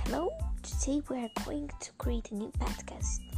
Hello, today we are going to create a new podcast.